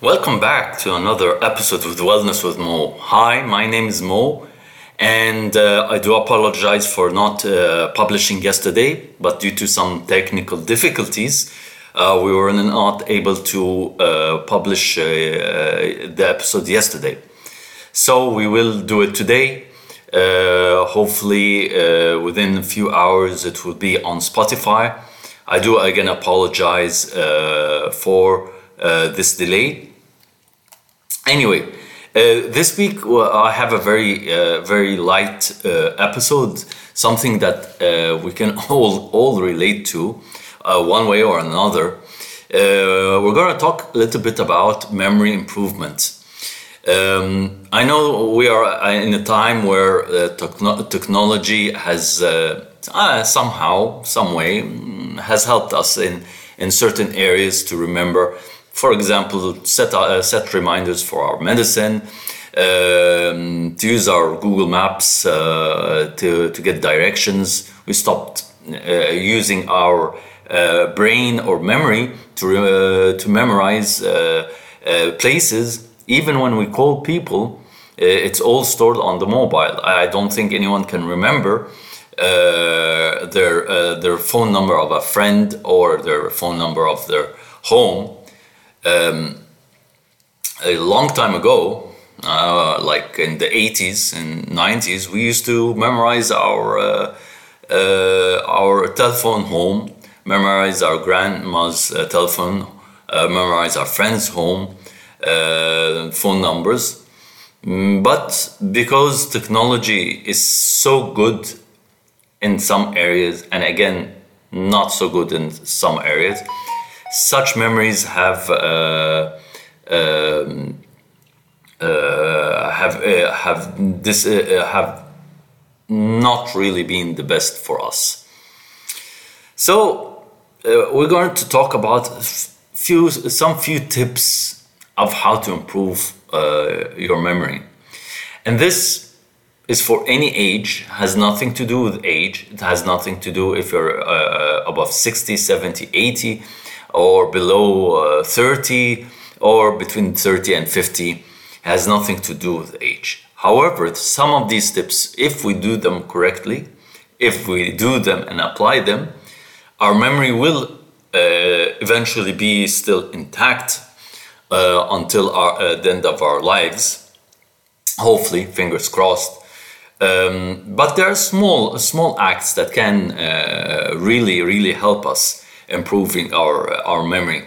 Welcome back to another episode of Wellness with Mo. Hi, my name is Mo, and I do apologize for not publishing yesterday, but due to some technical difficulties, we were not able to publish the episode yesterday. So we will do it today. Hopefully, within a few hours, it will be on Spotify. I do again apologize for this delay. Anyway, this week I have a very light episode, something that we can all relate to one way or another. We're going to talk a little bit about memory improvement. I know we are in a time where technology has somehow, some way, has helped us in certain areas to remember. For example, set reminders for our medicine, to use our Google Maps to get directions. We stopped using our brain or memory to memorize places. Even when we call people, it's all stored on the mobile. I don't think anyone can remember their phone number of a friend or their phone number of their home. A long time ago, like in the 80s and 90s, we used to memorize our telephone home, memorize our grandma's telephone, memorize our friend's home, phone numbers. But because technology is so good in some areas, and again, not so good in some areas, such memories have not really been the best for us. So we're going to talk about some few tips of how to improve your memory, and this is for any age. Has nothing to do with age. It has nothing to do if you're above 60, 70, 80 or below 30 or between 30 and 50. It has nothing to do with age. However, some of these tips, if we do them correctly, if we do them and apply them, our memory will eventually be still intact until the end of our lives. Hopefully, fingers crossed. But there are small acts that can really help us improving our memory.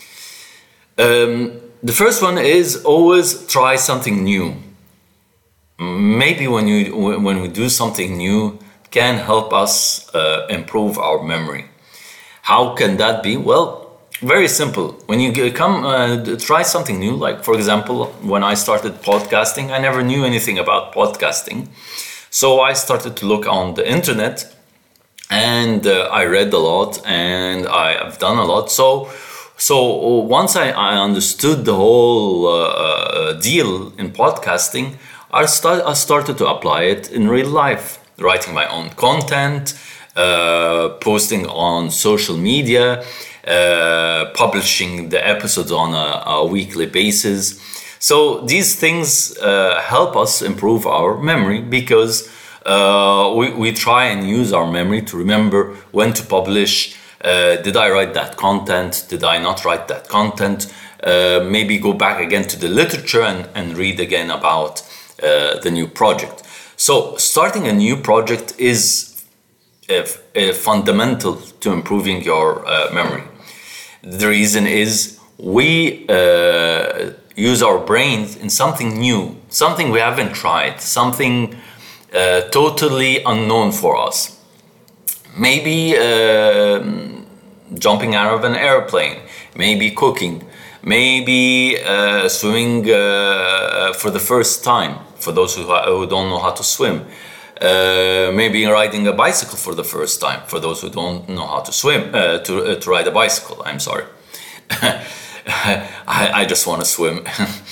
The first one is always try something new. Maybe when we do something new, can help us improve our memory. How can that be? Well, very simple. When you try something new, like for example, when I started podcasting, I never knew anything about podcasting. So I started to look on the internet, and I read a lot and I have done a lot. So once I understood the whole deal in podcasting, I started to apply it in real life, writing my own content, posting on social media, publishing the episodes on a weekly basis. So these things help us improve our memory because we try and use our memory to remember when to publish. Did I write that content? Did I not write that content? Maybe go back again to the literature and read again about the new project. So starting a new project is fundamental to improving your memory. The reason is we use our brains in something new, something we haven't tried, something totally unknown for us. Maybe jumping out of an airplane, maybe cooking, maybe swimming for the first time, for those who don't know how to swim. Maybe riding a bicycle for the first time, for those who don't know how to swim, to ride a bicycle, I'm sorry. I just want to swim.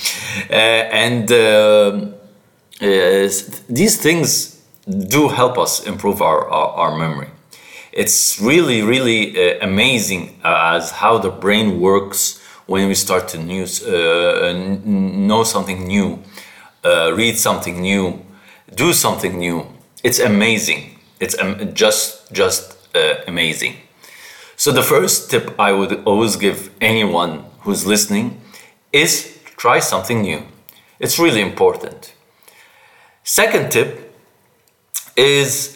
These things do help us improve our memory. It's really amazing as how the brain works when we start to know something new, read something new, do something new. It's amazing. It's just amazing. So the first tip I would always give anyone who's listening is try something new. It's really important. Second tip is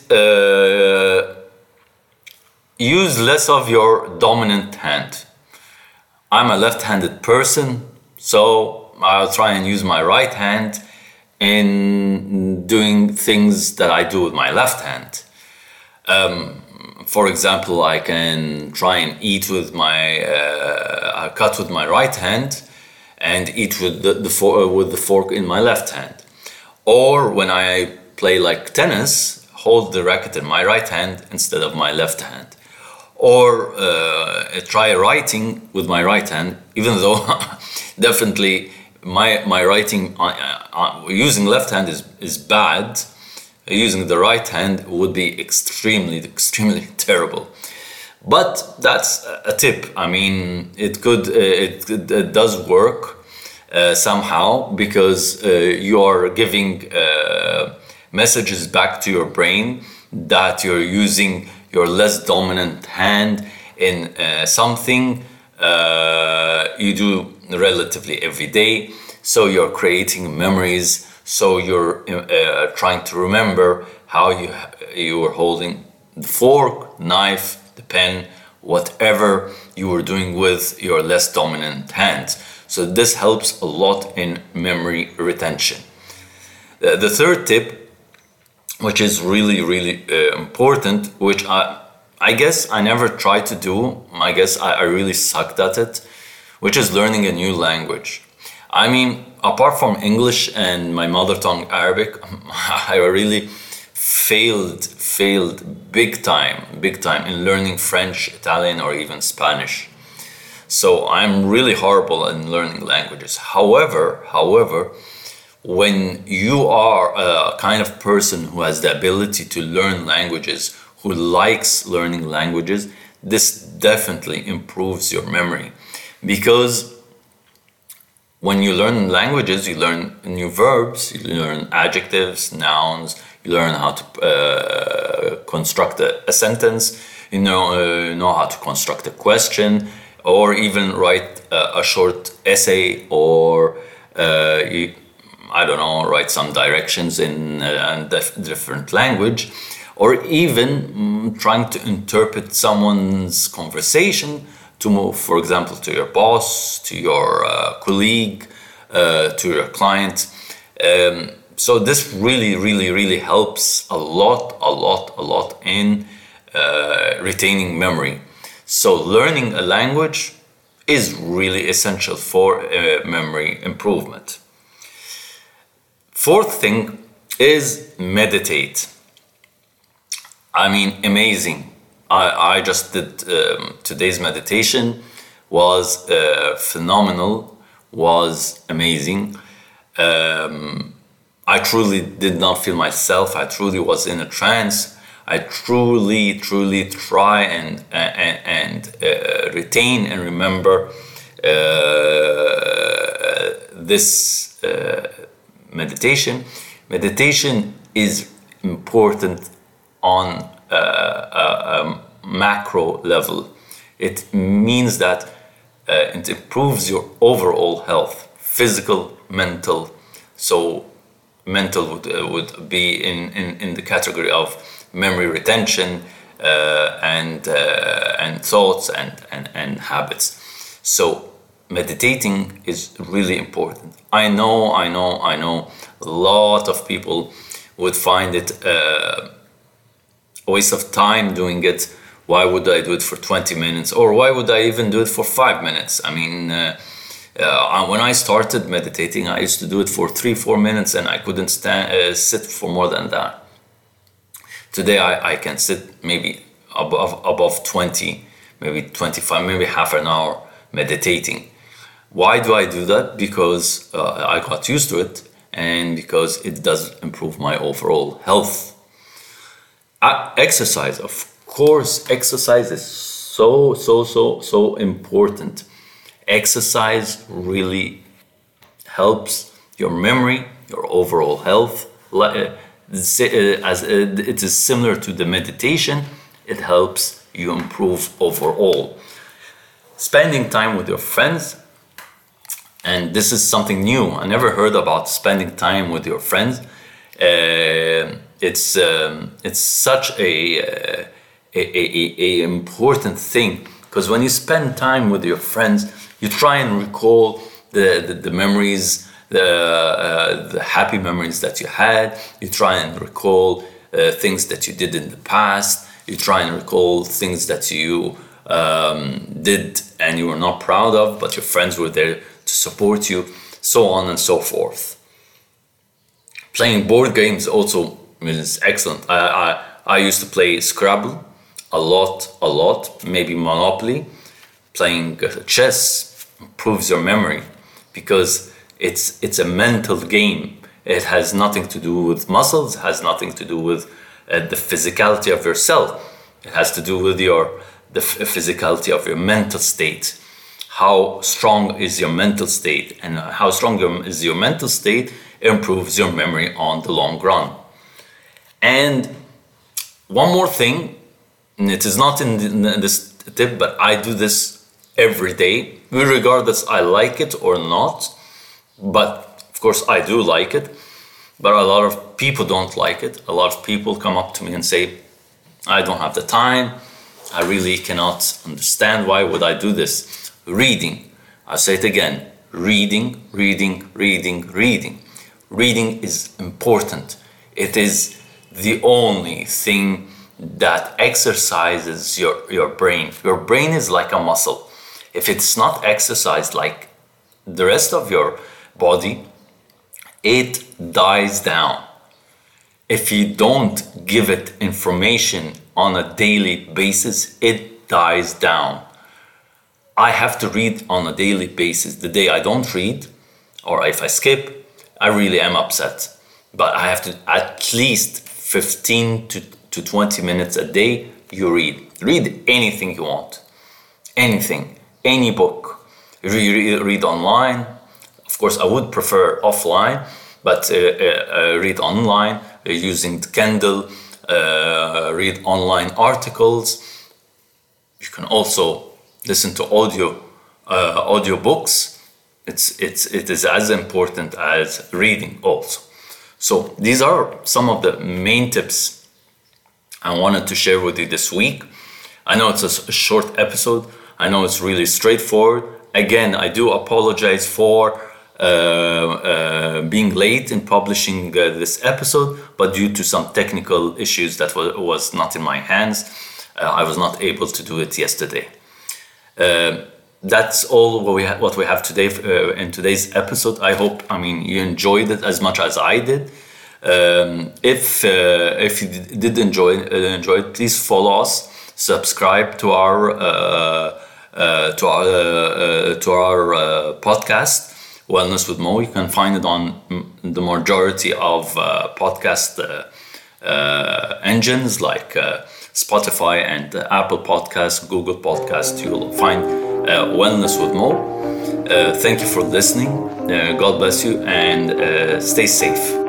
use less of your dominant hand. I'm a left-handed person, so I'll try and use my right hand in doing things that I do with my left hand. For example, I can try and eat with I cut with my right hand and eat with the fork in my left hand. Or when I play like tennis, hold the racket in my right hand instead of my left hand. Or try writing with my right hand, even though definitely my writing using left hand is bad. Using the right hand would be extremely terrible. But that's a tip. I mean, it does work somehow, because you are giving messages back to your brain that you're using your less dominant hand in something you do relatively every day. So you're creating memories. So you're trying to remember how you were holding the fork, knife, the pen, whatever you were doing with your less dominant hand. So this helps a lot in memory retention. The third tip, which is really important, which I guess I never tried to do, I guess I really sucked at it, which is learning a new language. I mean, apart from English and my mother tongue Arabic, I really failed big time in learning French, Italian, or even Spanish. So I'm really horrible in learning languages. However, when you are a kind of person who has the ability to learn languages, who likes learning languages, this definitely improves your memory. Because when you learn languages, you learn new verbs, you learn adjectives, nouns, you learn how to construct a sentence, you know how to construct a question, or even write a short essay, or write some directions in different language, or even trying to interpret someone's conversation to move, for example, to your boss, to your colleague, to your client. So this really helps a lot in retaining memory. So learning a language is really essential for memory improvement. Fourth thing is meditate. I mean, amazing. I just did today's meditation, was phenomenal, was amazing. I truly did not feel myself. I truly was in a trance. I truly try and retain and remember this meditation. Meditation is important on a macro level. It means that it improves your overall health, physical, mental. So mental would be in the category of memory retention and thoughts and habits. So meditating is really important. I know a lot of people would find it a waste of time doing it. Why would I do it for 20 minutes? Or why would I even do it for 5 minutes? I mean, when I started meditating, I used to do it for 3-4 minutes, and I couldn't sit for more than that. Today I can sit maybe above 20, maybe 25, maybe half an hour meditating. Why do I do that? Because I got used to it, and because it does improve my overall health. Exercise, of course, exercise is so important. Exercise really helps your memory, your overall health. As it is similar to the meditation, it helps you improve overall. Spending time with your friends, and this is something new. I never heard about spending time with your friends. It's such a important thing, because when you spend time with your friends, you try and recall the memories, the happy memories that you had. You try and recall things that you did in the past. You try and recall things that you did and you were not proud of, but your friends were there to support you, so on and so forth. Playing board games also is excellent. I used to play Scrabble a lot, maybe Monopoly. Playing chess improves your memory because it's a mental game. It has nothing to do with muscles, it has nothing to do with the physicality of yourself. It has to do with the physicality of your mental state. How strong is your mental state, and how strong is your mental state improves your memory on the long run. And one more thing, and it is not in this tip, but I do this every day, regardless I like it or not. But of course I do like it, but a lot of people don't like it. A lot of people come up to me and say, I don't have the time, I really cannot understand, why would I do this? Reading. I'll say it again, reading. Reading is important. It is the only thing that exercises your brain. Your brain is like a muscle. If it's not exercised like the rest of your body, it dies down. If you don't give it information on a daily basis, it dies down. I have to read on a daily basis. The day I don't read, or if I skip, I really am upset. But I have to at least 15 to 20 minutes a day you read. Read anything you want. Anything. Any book. Read online. Of course, I would prefer offline, but read online using Kindle. Read online articles. You can also listen to audio books. It is as important as reading also. So these are some of the main tips I wanted to share with you this week. I know it's a short episode. I know it's really straightforward. Again, I do apologize for being late in publishing this episode, but due to some technical issues that was not in my hands, I was not able to do it yesterday. That's all what we have today in today's episode. I hope, you enjoyed it as much as I did. If you did enjoy it, please follow us, subscribe to our podcast, Wellness with Mo. You can find it on the majority of podcast engines like Spotify and Apple Podcasts, Google Podcasts. You'll find Wellness with Mo. Thank you for listening. God bless you, and stay safe.